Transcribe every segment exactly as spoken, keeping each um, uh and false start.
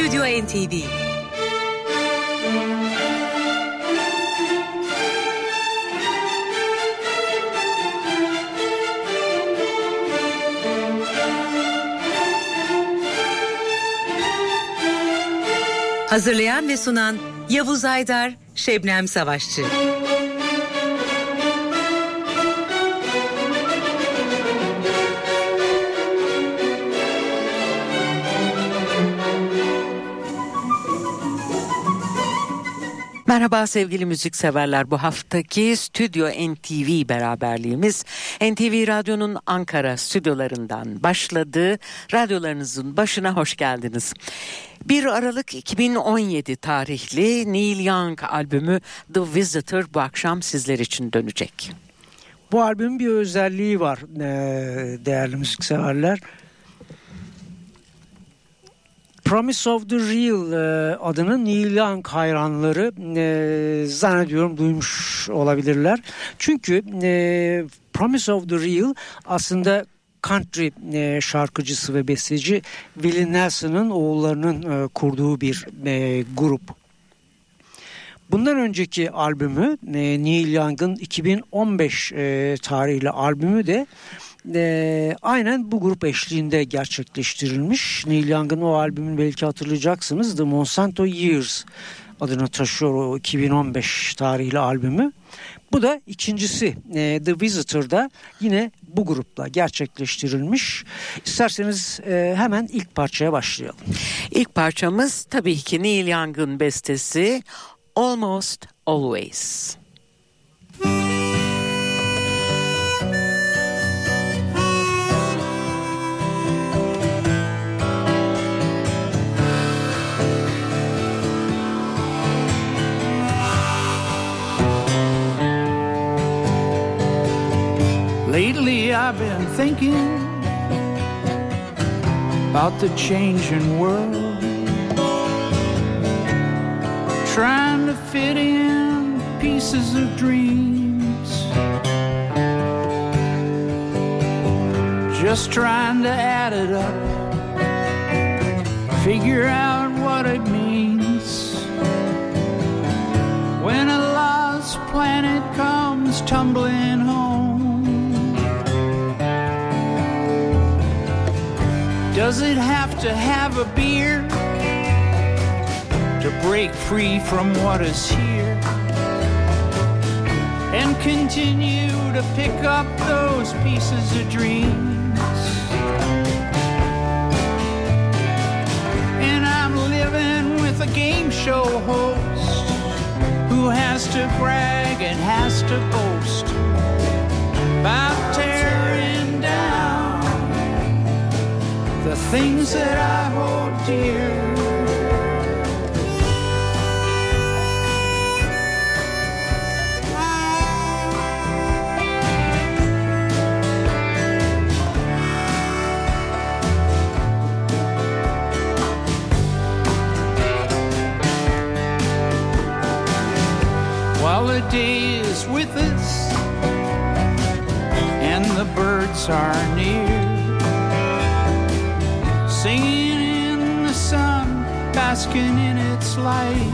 Stüdyo N T V. Hazırlayan ve sunan Yavuz Aydar, Şebnem Savaşçı. Merhaba sevgili müzikseverler, bu haftaki Stüdyo N T V beraberliğimiz N T V Radyo'nun Ankara stüdyolarından başladı. Radyolarınızın başına hoş geldiniz. bir Aralık iki bin on yedi tarihli Neil Young albümü The Visitor bu akşam sizler için dönecek. Bu albümün bir özelliği var değerli müzikseverler. Promise of the Real adını Neil Young hayranları e, zannediyorum duymuş olabilirler. Çünkü e, Promise of the Real aslında country e, şarkıcısı ve besteci Willie Nelson'ın oğullarının e, kurduğu bir e, grup. Bundan önceki albümü e, Neil Young'ın iki bin on beş e, tarihli albümü de E, aynen bu grup eşliğinde gerçekleştirilmiş. Neil Young'ın o albümünü belki hatırlayacaksınız. The Monsanto Years adını taşıyor o iki bin on beş tarihli albümü. Bu da ikincisi. E, The Visitor'da yine bu grupla gerçekleştirilmiş. İsterseniz e, hemen ilk parçaya başlayalım. İlk parçamız tabii ki Neil Young'ın bestesi Almost Always. Lately I've been thinking about the changing world, trying to fit in pieces of dreams, just trying to add it up, figure out what it means when a lost planet comes tumbling home. Does it have to have a beer to break free from what is here and continue to pick up those pieces of dreams? And I'm living with a game show host who has to brag and has to boast about tearing down the things that I hold dear. While the day is with us and the birds are near, singing in the sun, basking in its light,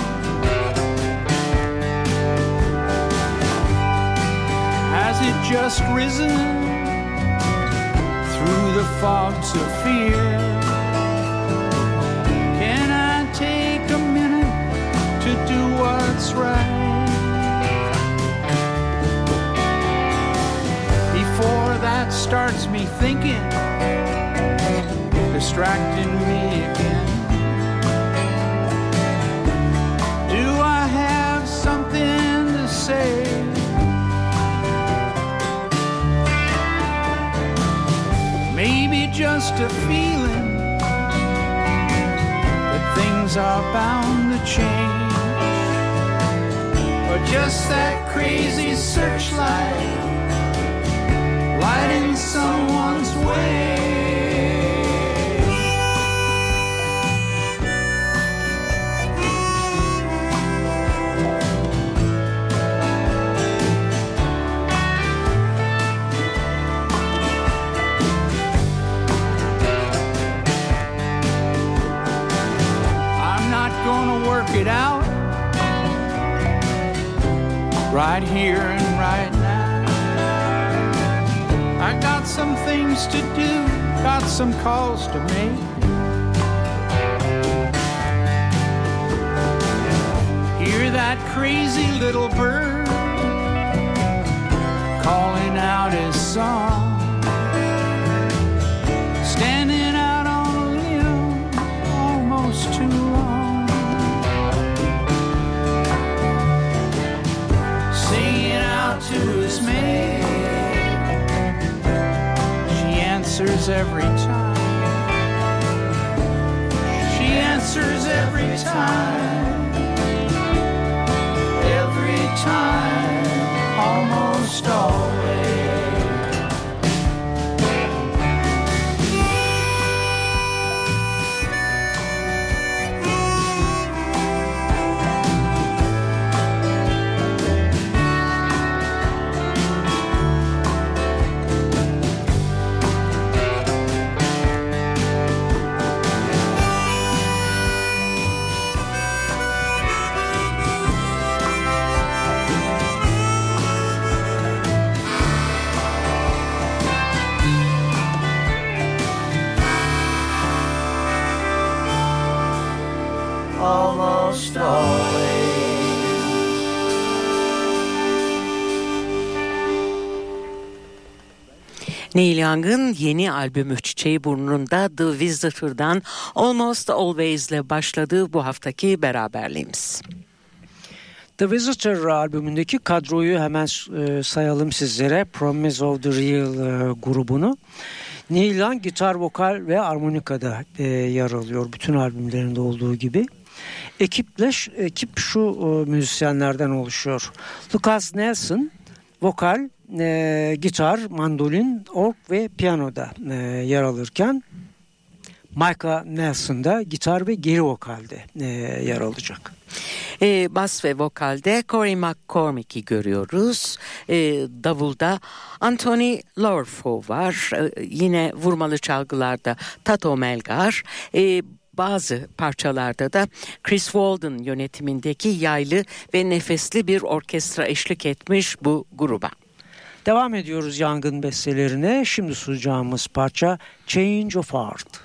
has it just risen through the fogs of fear? Can I take a minute to do what's right before that starts me thinking, distracting me again? Do I have something to say? Maybe just a feeling that things are bound to change, or just that crazy searchlight lighting someone's way. it out right here and right now. I got some things to do, got some calls to make. Hear that crazy little bird calling out his song. Standing out on a limb almost too long. Singing out to his mate. She answers every time. She answers every time. Every time, almost always. Almost always. Neil Young'ın yeni albümü Çiçeği Burnunda The Visitor'dan Almost Always'le başladığı bu haftaki beraberliğimiz. The Visitor albümündeki kadroyu hemen e, sayalım sizlere. Promise of the Real e, grubunu. Neil Young gitar, vokal ve armonikada e, yer alıyor bütün albümlerinde olduğu gibi. Ekiple, ekip şu e, müzisyenlerden oluşuyor. Lucas Nelson vokal, e, gitar, mandolin, org ve piyanoda e, yer alırken Micah Nelson da gitar ve geri vokalde e, yer alacak. E, bas ve vokalde Corey McCormick'i görüyoruz. E, davulda Anthony Lorfo var. E, yine vurmalı çalgılarda Tato Melgar. E, Bazı parçalarda da Chris Walden yönetimindeki yaylı ve nefesli bir orkestra eşlik etmiş bu gruba. Devam ediyoruz Young'ın bestelerine. Şimdi sunacağımız parça Change of Heart.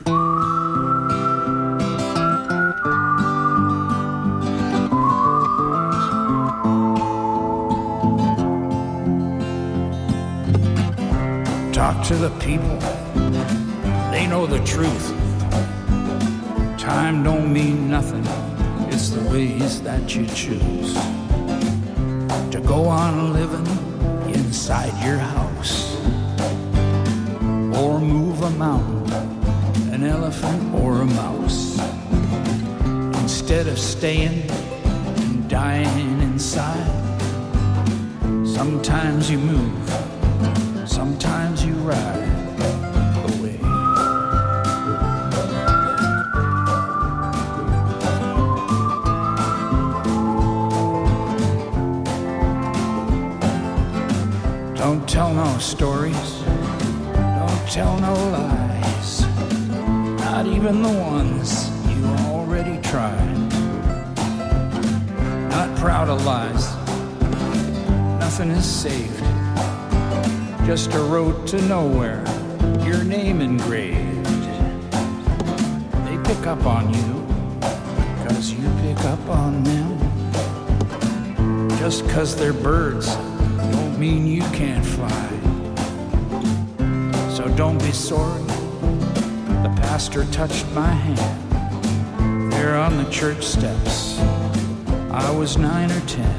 Talk to the people, they know the truth. Time don't mean nothing, it's the ways that you choose to go on living inside your house, or move a mountain, an elephant or a mouse, instead of staying and dying inside. Sometimes you move, sometimes you ride away. Don't tell no stories, don't tell no lies, not even the ones you already tried. Not proud of lies, nothing is saved, just a road to nowhere, your name engraved. They pick up on you, cause you pick up on them. Just cause they're birds don't mean you can't fly. So don't be sorry, the pastor touched my hand there on the church steps. I was nine or ten.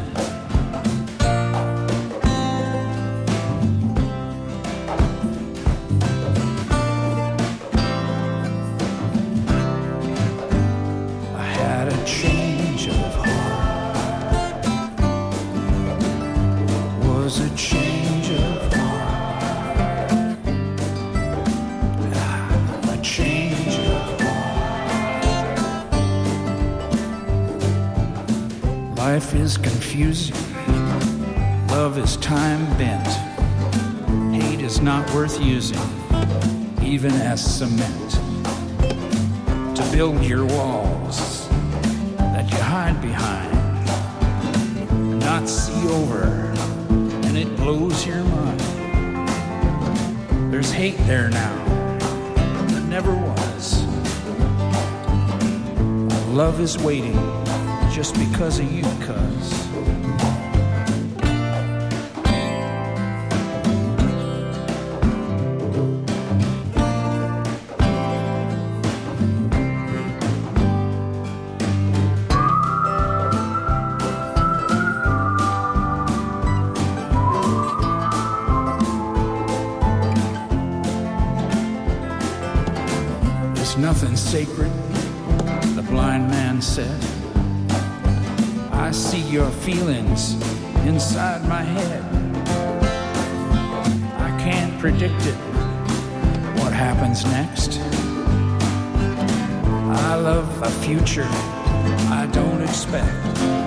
Life is confusing, love is time bent, hate is not worth using, even as cement, to build your walls that you hide behind, not see over, and it blows your mind. There's hate there now that never was. Love is waiting just because of you, cuz. Nothing sacred, the blind man said. I see your feelings inside my head. I can't predict it, what happens next. I love a future I don't expect.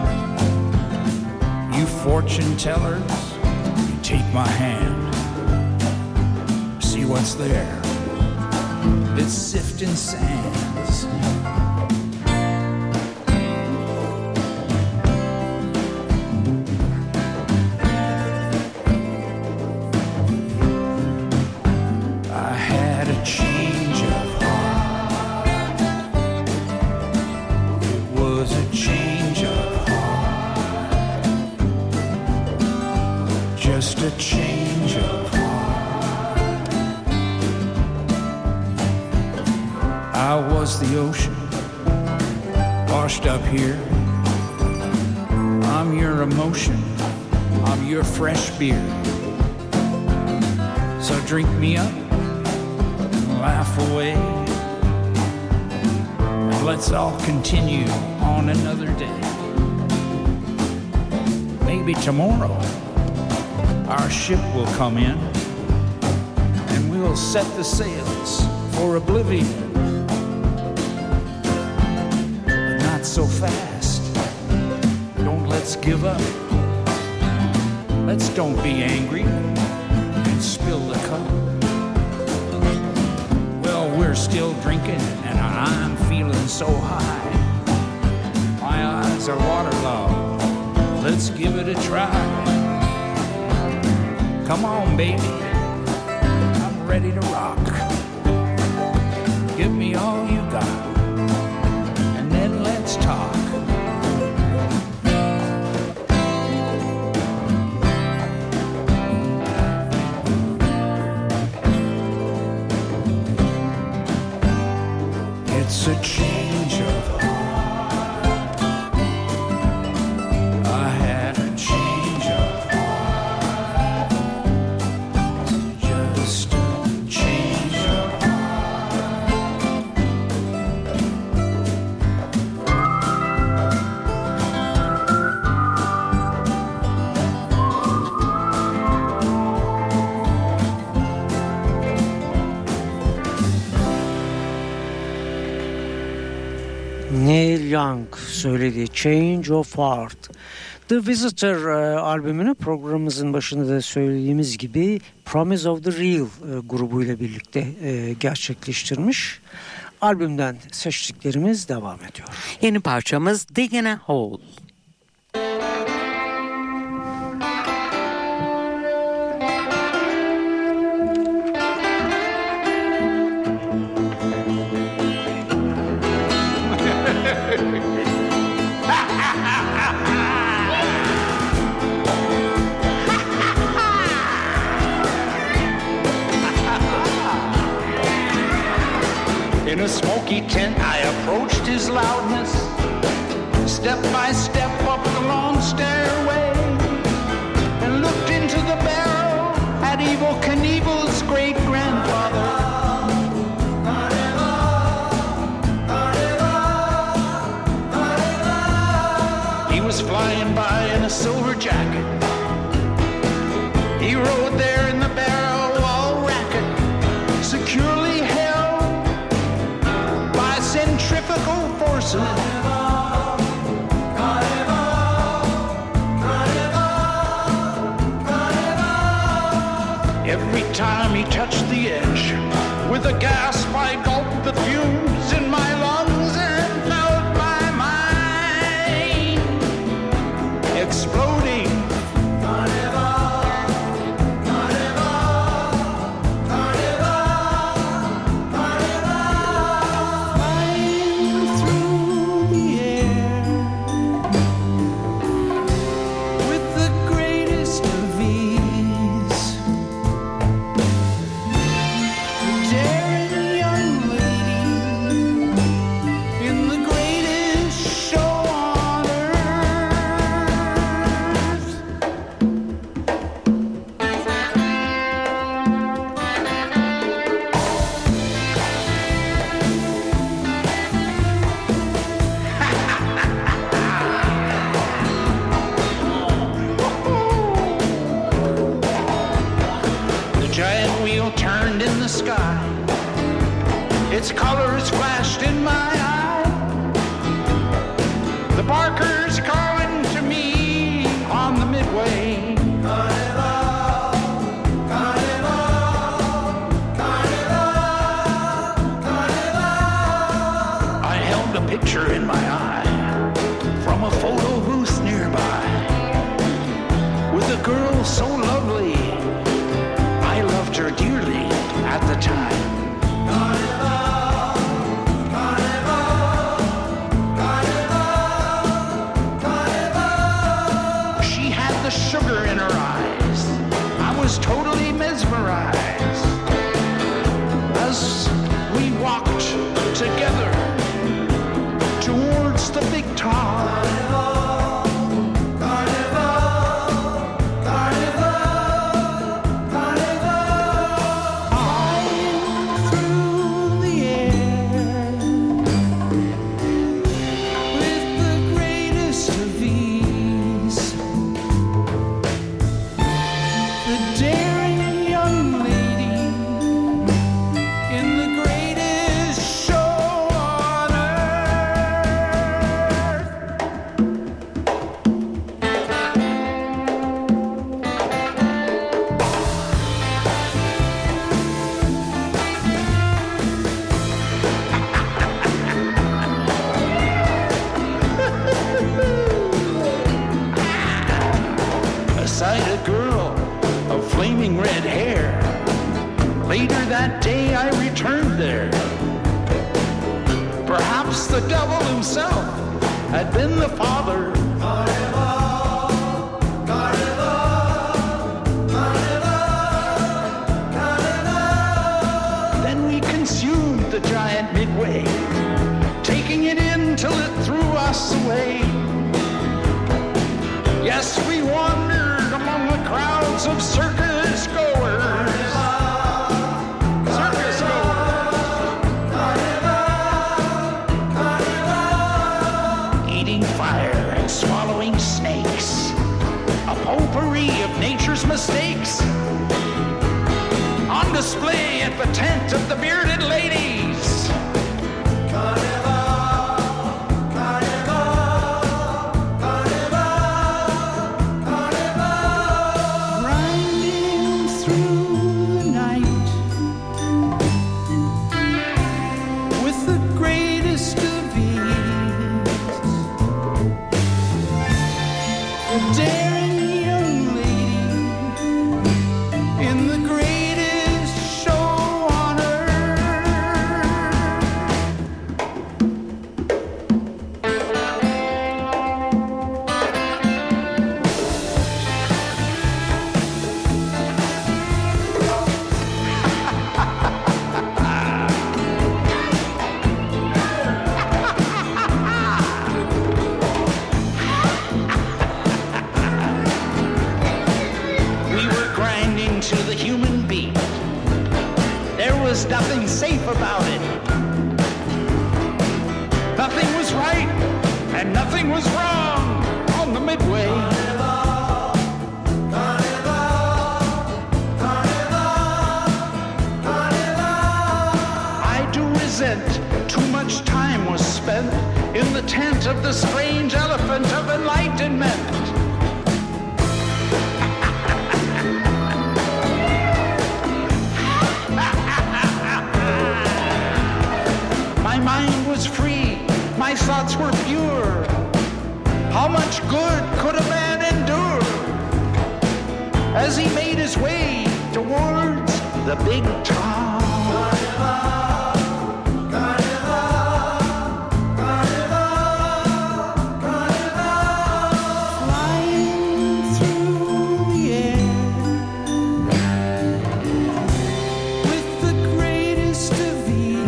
You fortune tellers, you take my hand. See what's there. It's sifting sands. I had a change of heart. It was a change of heart. Just a change of heart. I was the ocean, washed up here. I'm your emotion, I'm your fresh beer. So drink me up and laugh away, and let's all continue on another day. Maybe tomorrow our ship will come in, and we'll set the sails for oblivion. So fast, don't let's give up. Let's don't be angry and spill the cup. Well, we're still drinking and I'm feeling so high. My eyes are waterlogged. Let's give it a try. Come on, baby, I'm ready to rock. Give me all you got. Let's talk. It's a change of heart. I had a change of heart. Just a change of Neil Young söylediği Change of Heart. The Visitor e, albümünü programımızın başında da söylediğimiz gibi Promise of the Real e, grubuyla birlikte e, gerçekleştirmiş. Albümden seçtiklerimiz devam ediyor. Yeni parçamız Digging a Hole. In a smoky tent, I approached his loudness, step by step up the long stairway, and looked into the barrel at Evel Knievel's great-grandfather. He was flying by in a silver jacket. He rode there in the barrel wall racket, securely held by centrifugal forces. Every time he touched the edge, with a gasp I gulped the fumes in my lungs and felt my mind its colors flashed in my eye. The barkers calling to me on the midway. Carnival, carnival, carnival, carnival. I held a picture in my eye from a photo booth nearby with a girl so lovely, I loved her dearly at the time. Carnival, carnival, carnival, carnival. She had the sugar in her eyes. I was totally mesmerized as we walked together towards the big top. That day I returned there. Perhaps the devil himself had been the father. Carnival, carnival, carnival, carnival. Then we consumed the giant Midway, taking it in till it threw us away. Yes, we wandered among the crowds of circus goers. Swallowing snakes, a potpourri of nature's mistakes, on display at the tent of the bearded ladies. Carnival, carnival, carnival, carnival. Grinding through the night with the greatest of ease. Daring young lady in the greatest show on nothing safe about it. Nothing was right and nothing was wrong on the Midway. Carnival, carnival, carnival, carnival. I do resent too much time was spent in the tent of the strange elephant of enlightenment. My mind was free, my thoughts were pure. How much good could a man endure? As he made his way towards the big top. Carnival, carnival, carnival, carnival. Flying through the air with the greatest of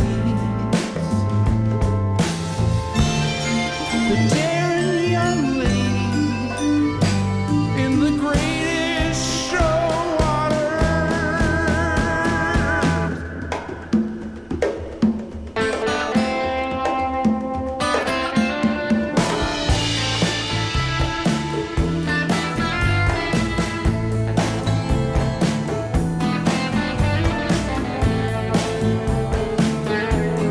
the daring young lady in the greatest show on earth.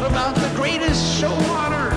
about the greatest show on earth.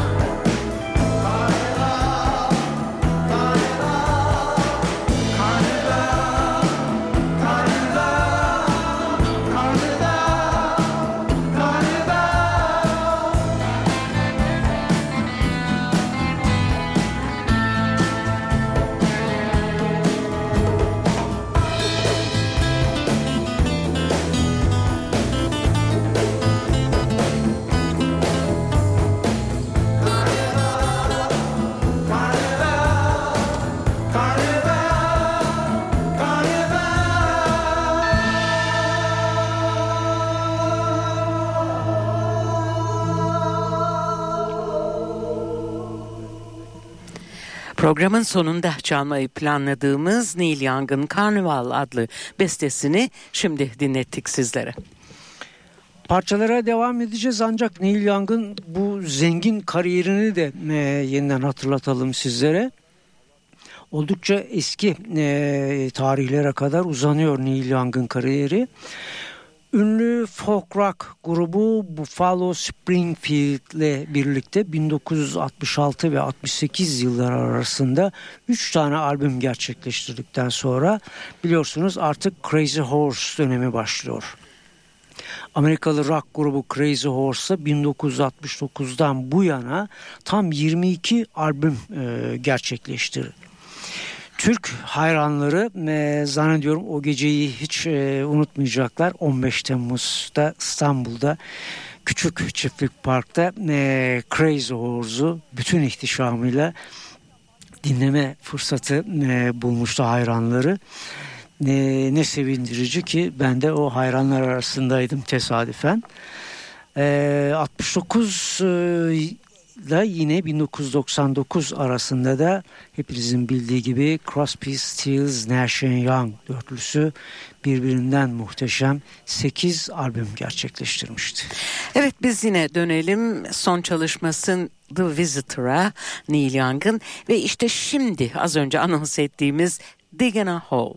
Programın sonunda çalmayı planladığımız Neil Young'ın Carnival adlı bestesini şimdi dinlettik sizlere. Parçalara devam edeceğiz ancak Neil Young'ın bu zengin kariyerini de e, yeniden hatırlatalım sizlere. Oldukça eski e, tarihlere kadar uzanıyor Neil Young'ın kariyeri. Ünlü folk rock grubu Buffalo Springfield ile birlikte bin dokuz yüz altmış altı ve altmış sekiz yılları arasında üç tane albüm gerçekleştirdikten sonra biliyorsunuz artık Crazy Horse dönemi başlıyor. Amerikalı rock grubu Crazy Horse bin dokuz yüz altmış dokuzdan bu yana tam yirmi iki albüm e, gerçekleştirdi. Türk hayranları e, zannediyorum o geceyi hiç e, unutmayacaklar. on beş Temmuz'da İstanbul'da Küçük Çiftlik Park'ta e, Crazy Horse'u bütün ihtişamıyla dinleme fırsatı e, bulmuştu hayranları. E, ne sevindirici ki ben de o hayranlar arasındaydım tesadüfen. E, altmış dokuz e, ile yine bin dokuz yüz doksan dokuz arasında da hepinizin bildiği gibi Crosby, Stills, Nash and Young dörtlüsü birbirinden muhteşem sekiz albüm gerçekleştirmişti. Evet, biz yine dönelim son çalışması The Visitor'a, Neil Young'ın ve işte şimdi az önce anons ettiğimiz Digging a Hole.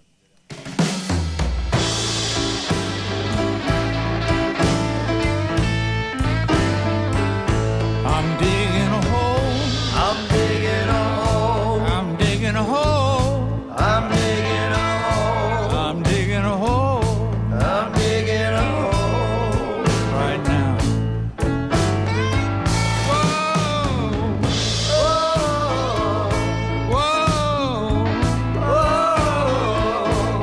I'm digging a hole. I'm digging a hole. I'm digging a hole. I'm digging a hole. I'm digging a hole. I'm digging a hole right now. Whoa, whoa, whoa, whoa.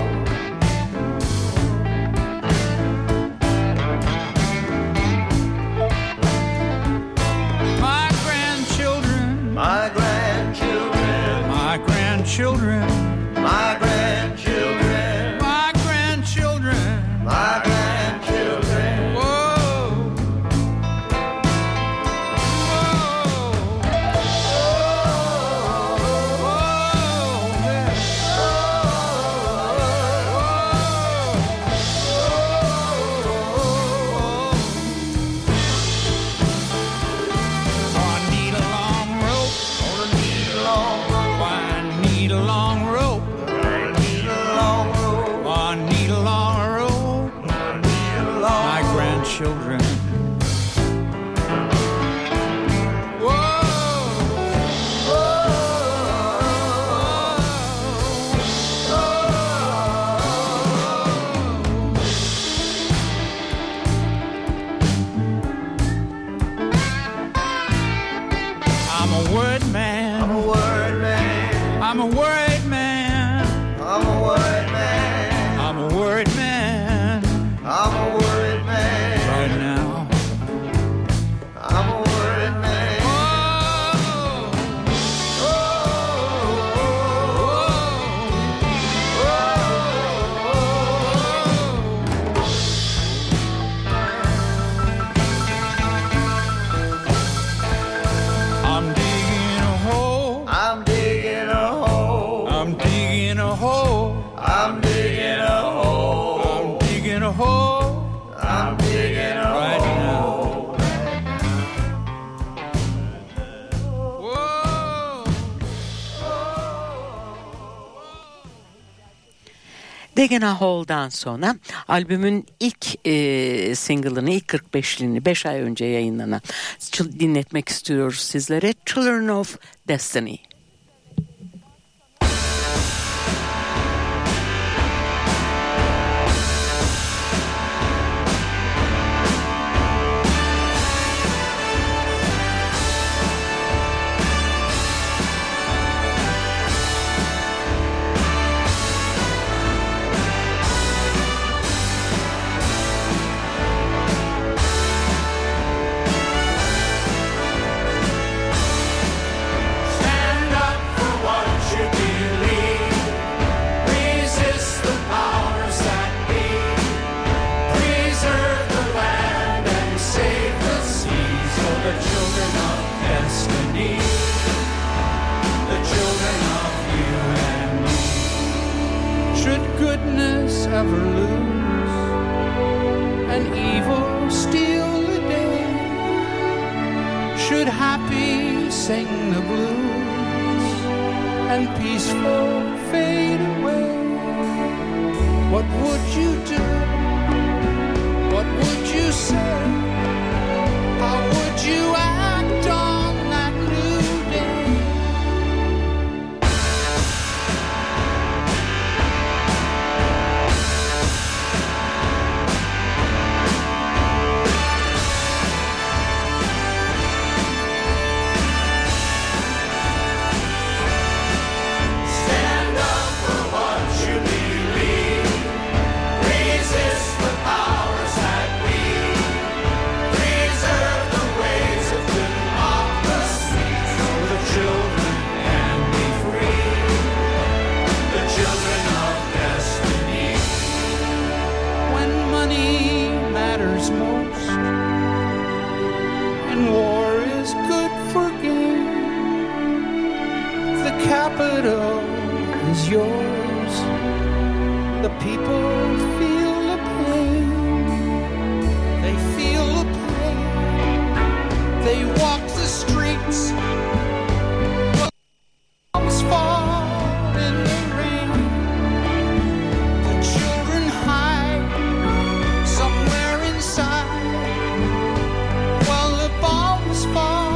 My grandchildren, my grandchildren, my grandchildren, my grandchildren, my grandchildren, my grandchildren. Whoa, whoa, whoa, yeah. I need a long rope. I need a long rope. I need a long rope. I need a long rope. I need a long rope. I need a long My grandchildren. Whoa. I'm a word man. I'm a word man. I'm a word man. I'm a word man. I'm a word man. I'm a word man. Right now. I'm a word man. Whoa. Whoa. I'm digging a hole. I'm digging a hole. I'm digging a hole. I'm digging a hole. I'm digging a hole. I'm digging a hole right now. Whoa. Degena Hall'dan sonra albümün ilk e, single'ını, ilk kırk beşliğini beş ay önce yayınlanan dinletmek istiyoruz sizlere. Children of Destiny. Ever lose and evil steal the day? Should happy sing the blues and peaceful fade away? What would you do? What would you say? How would you act on that new day? Capital is yours. The people feel the pain. They feel the pain. They walk the streets. Bombs fall in the rain. The children hide somewhere inside while the bombs fall.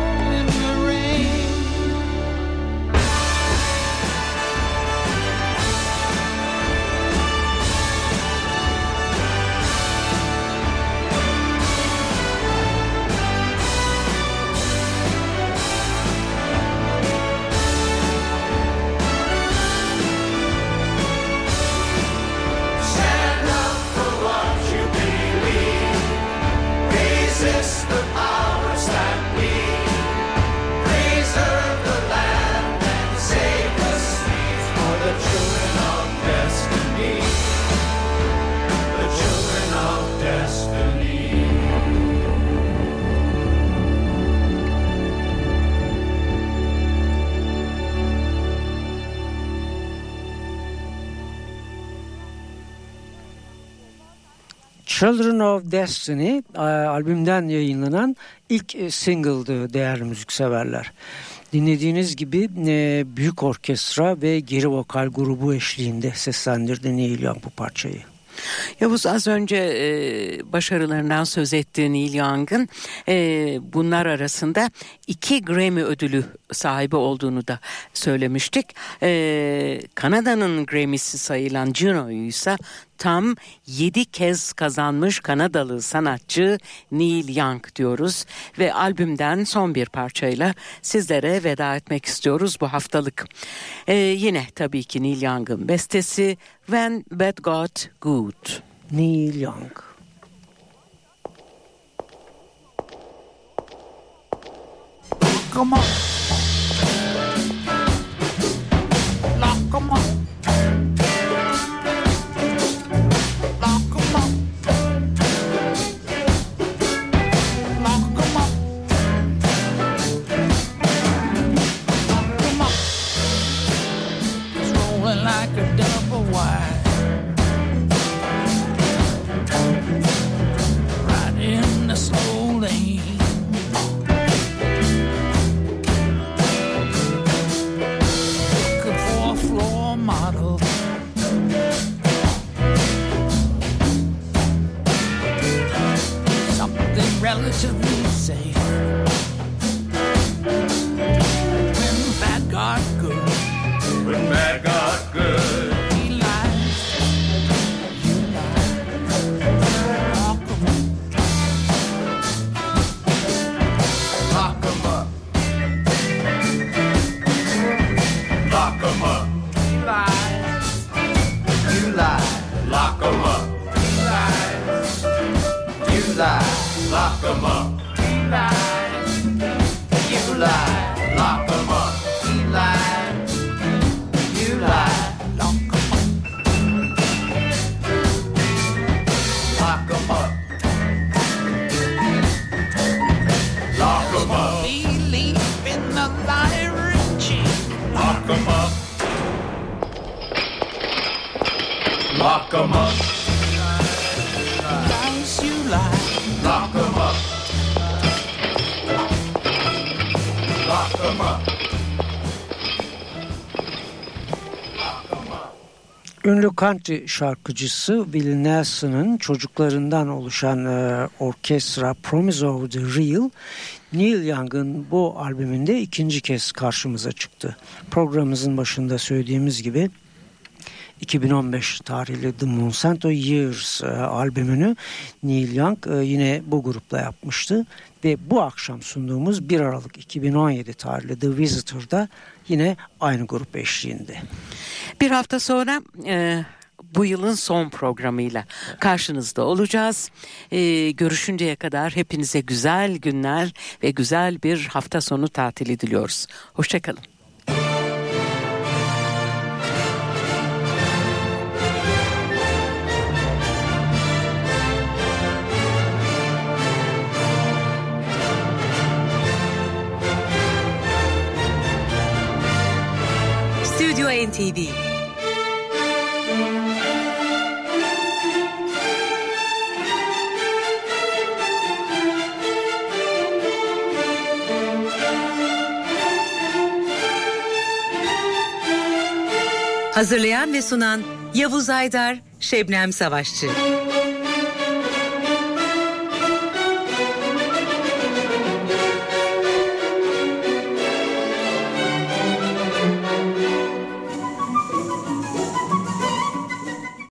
Children of Destiny albümden yayınlanan ilk single'dı değerli müzikseverler. Dinlediğiniz gibi büyük orkestra ve geri vokal grubu eşliğinde seslendirdi Neil Young bu parçayı. Yavuz, az önce e, başarılarından söz ettiği Neil Young'ın e, bunlar arasında iki Grammy ödülü sahibi olduğunu da söylemiştik. E, Kanada'nın Grammy'si sayılan Juno'yu ise tam yedi kez kazanmış Kanadalı sanatçı Neil Young diyoruz ve albümden son bir parçayla sizlere veda etmek istiyoruz bu haftalık. Ee, yine tabii ki Neil Young'ın bestesi When Bad Got Good. Neil Young. Come on. Lock 'em up. relatively safe. When bad got good, when bad got good, he lies, you lie, lock 'em up, lock 'em up, lock 'em up, lies, you lie, lock 'em up, lies, you lie, lock 'em up, lies, you lie, lock 'em up, he lied, you lie, lock 'em up, lock 'em up, lock 'em up, believe in the lottery chain, lock 'em up, lock 'em up, lies, you lie, lock 'em up, lock 'em up. Ünlü country şarkıcısı Willie Nelson'ın çocuklarından oluşan e, orkestra Promise of the Real, Neil Young'ın bu albümünde ikinci kez karşımıza çıktı. Programımızın başında söylediğimiz gibi iki bin on beş tarihli The Monsanto Years e, albümünü Neil Young e, yine bu grupla yapmıştı. Ve bu akşam sunduğumuz bir Aralık iki bin on yedi tarihli The Visitor'da yine aynı grup eşliğinde. Bir hafta sonra e, bu yılın son programıyla karşınızda olacağız. E, görüşünceye kadar hepinize güzel günler ve güzel bir hafta sonu tatili diliyoruz. Hoşçakalın. Stüdyo N T V. Hazırlayan ve sunan Yavuz Aydar, Şebnem Savaşçı.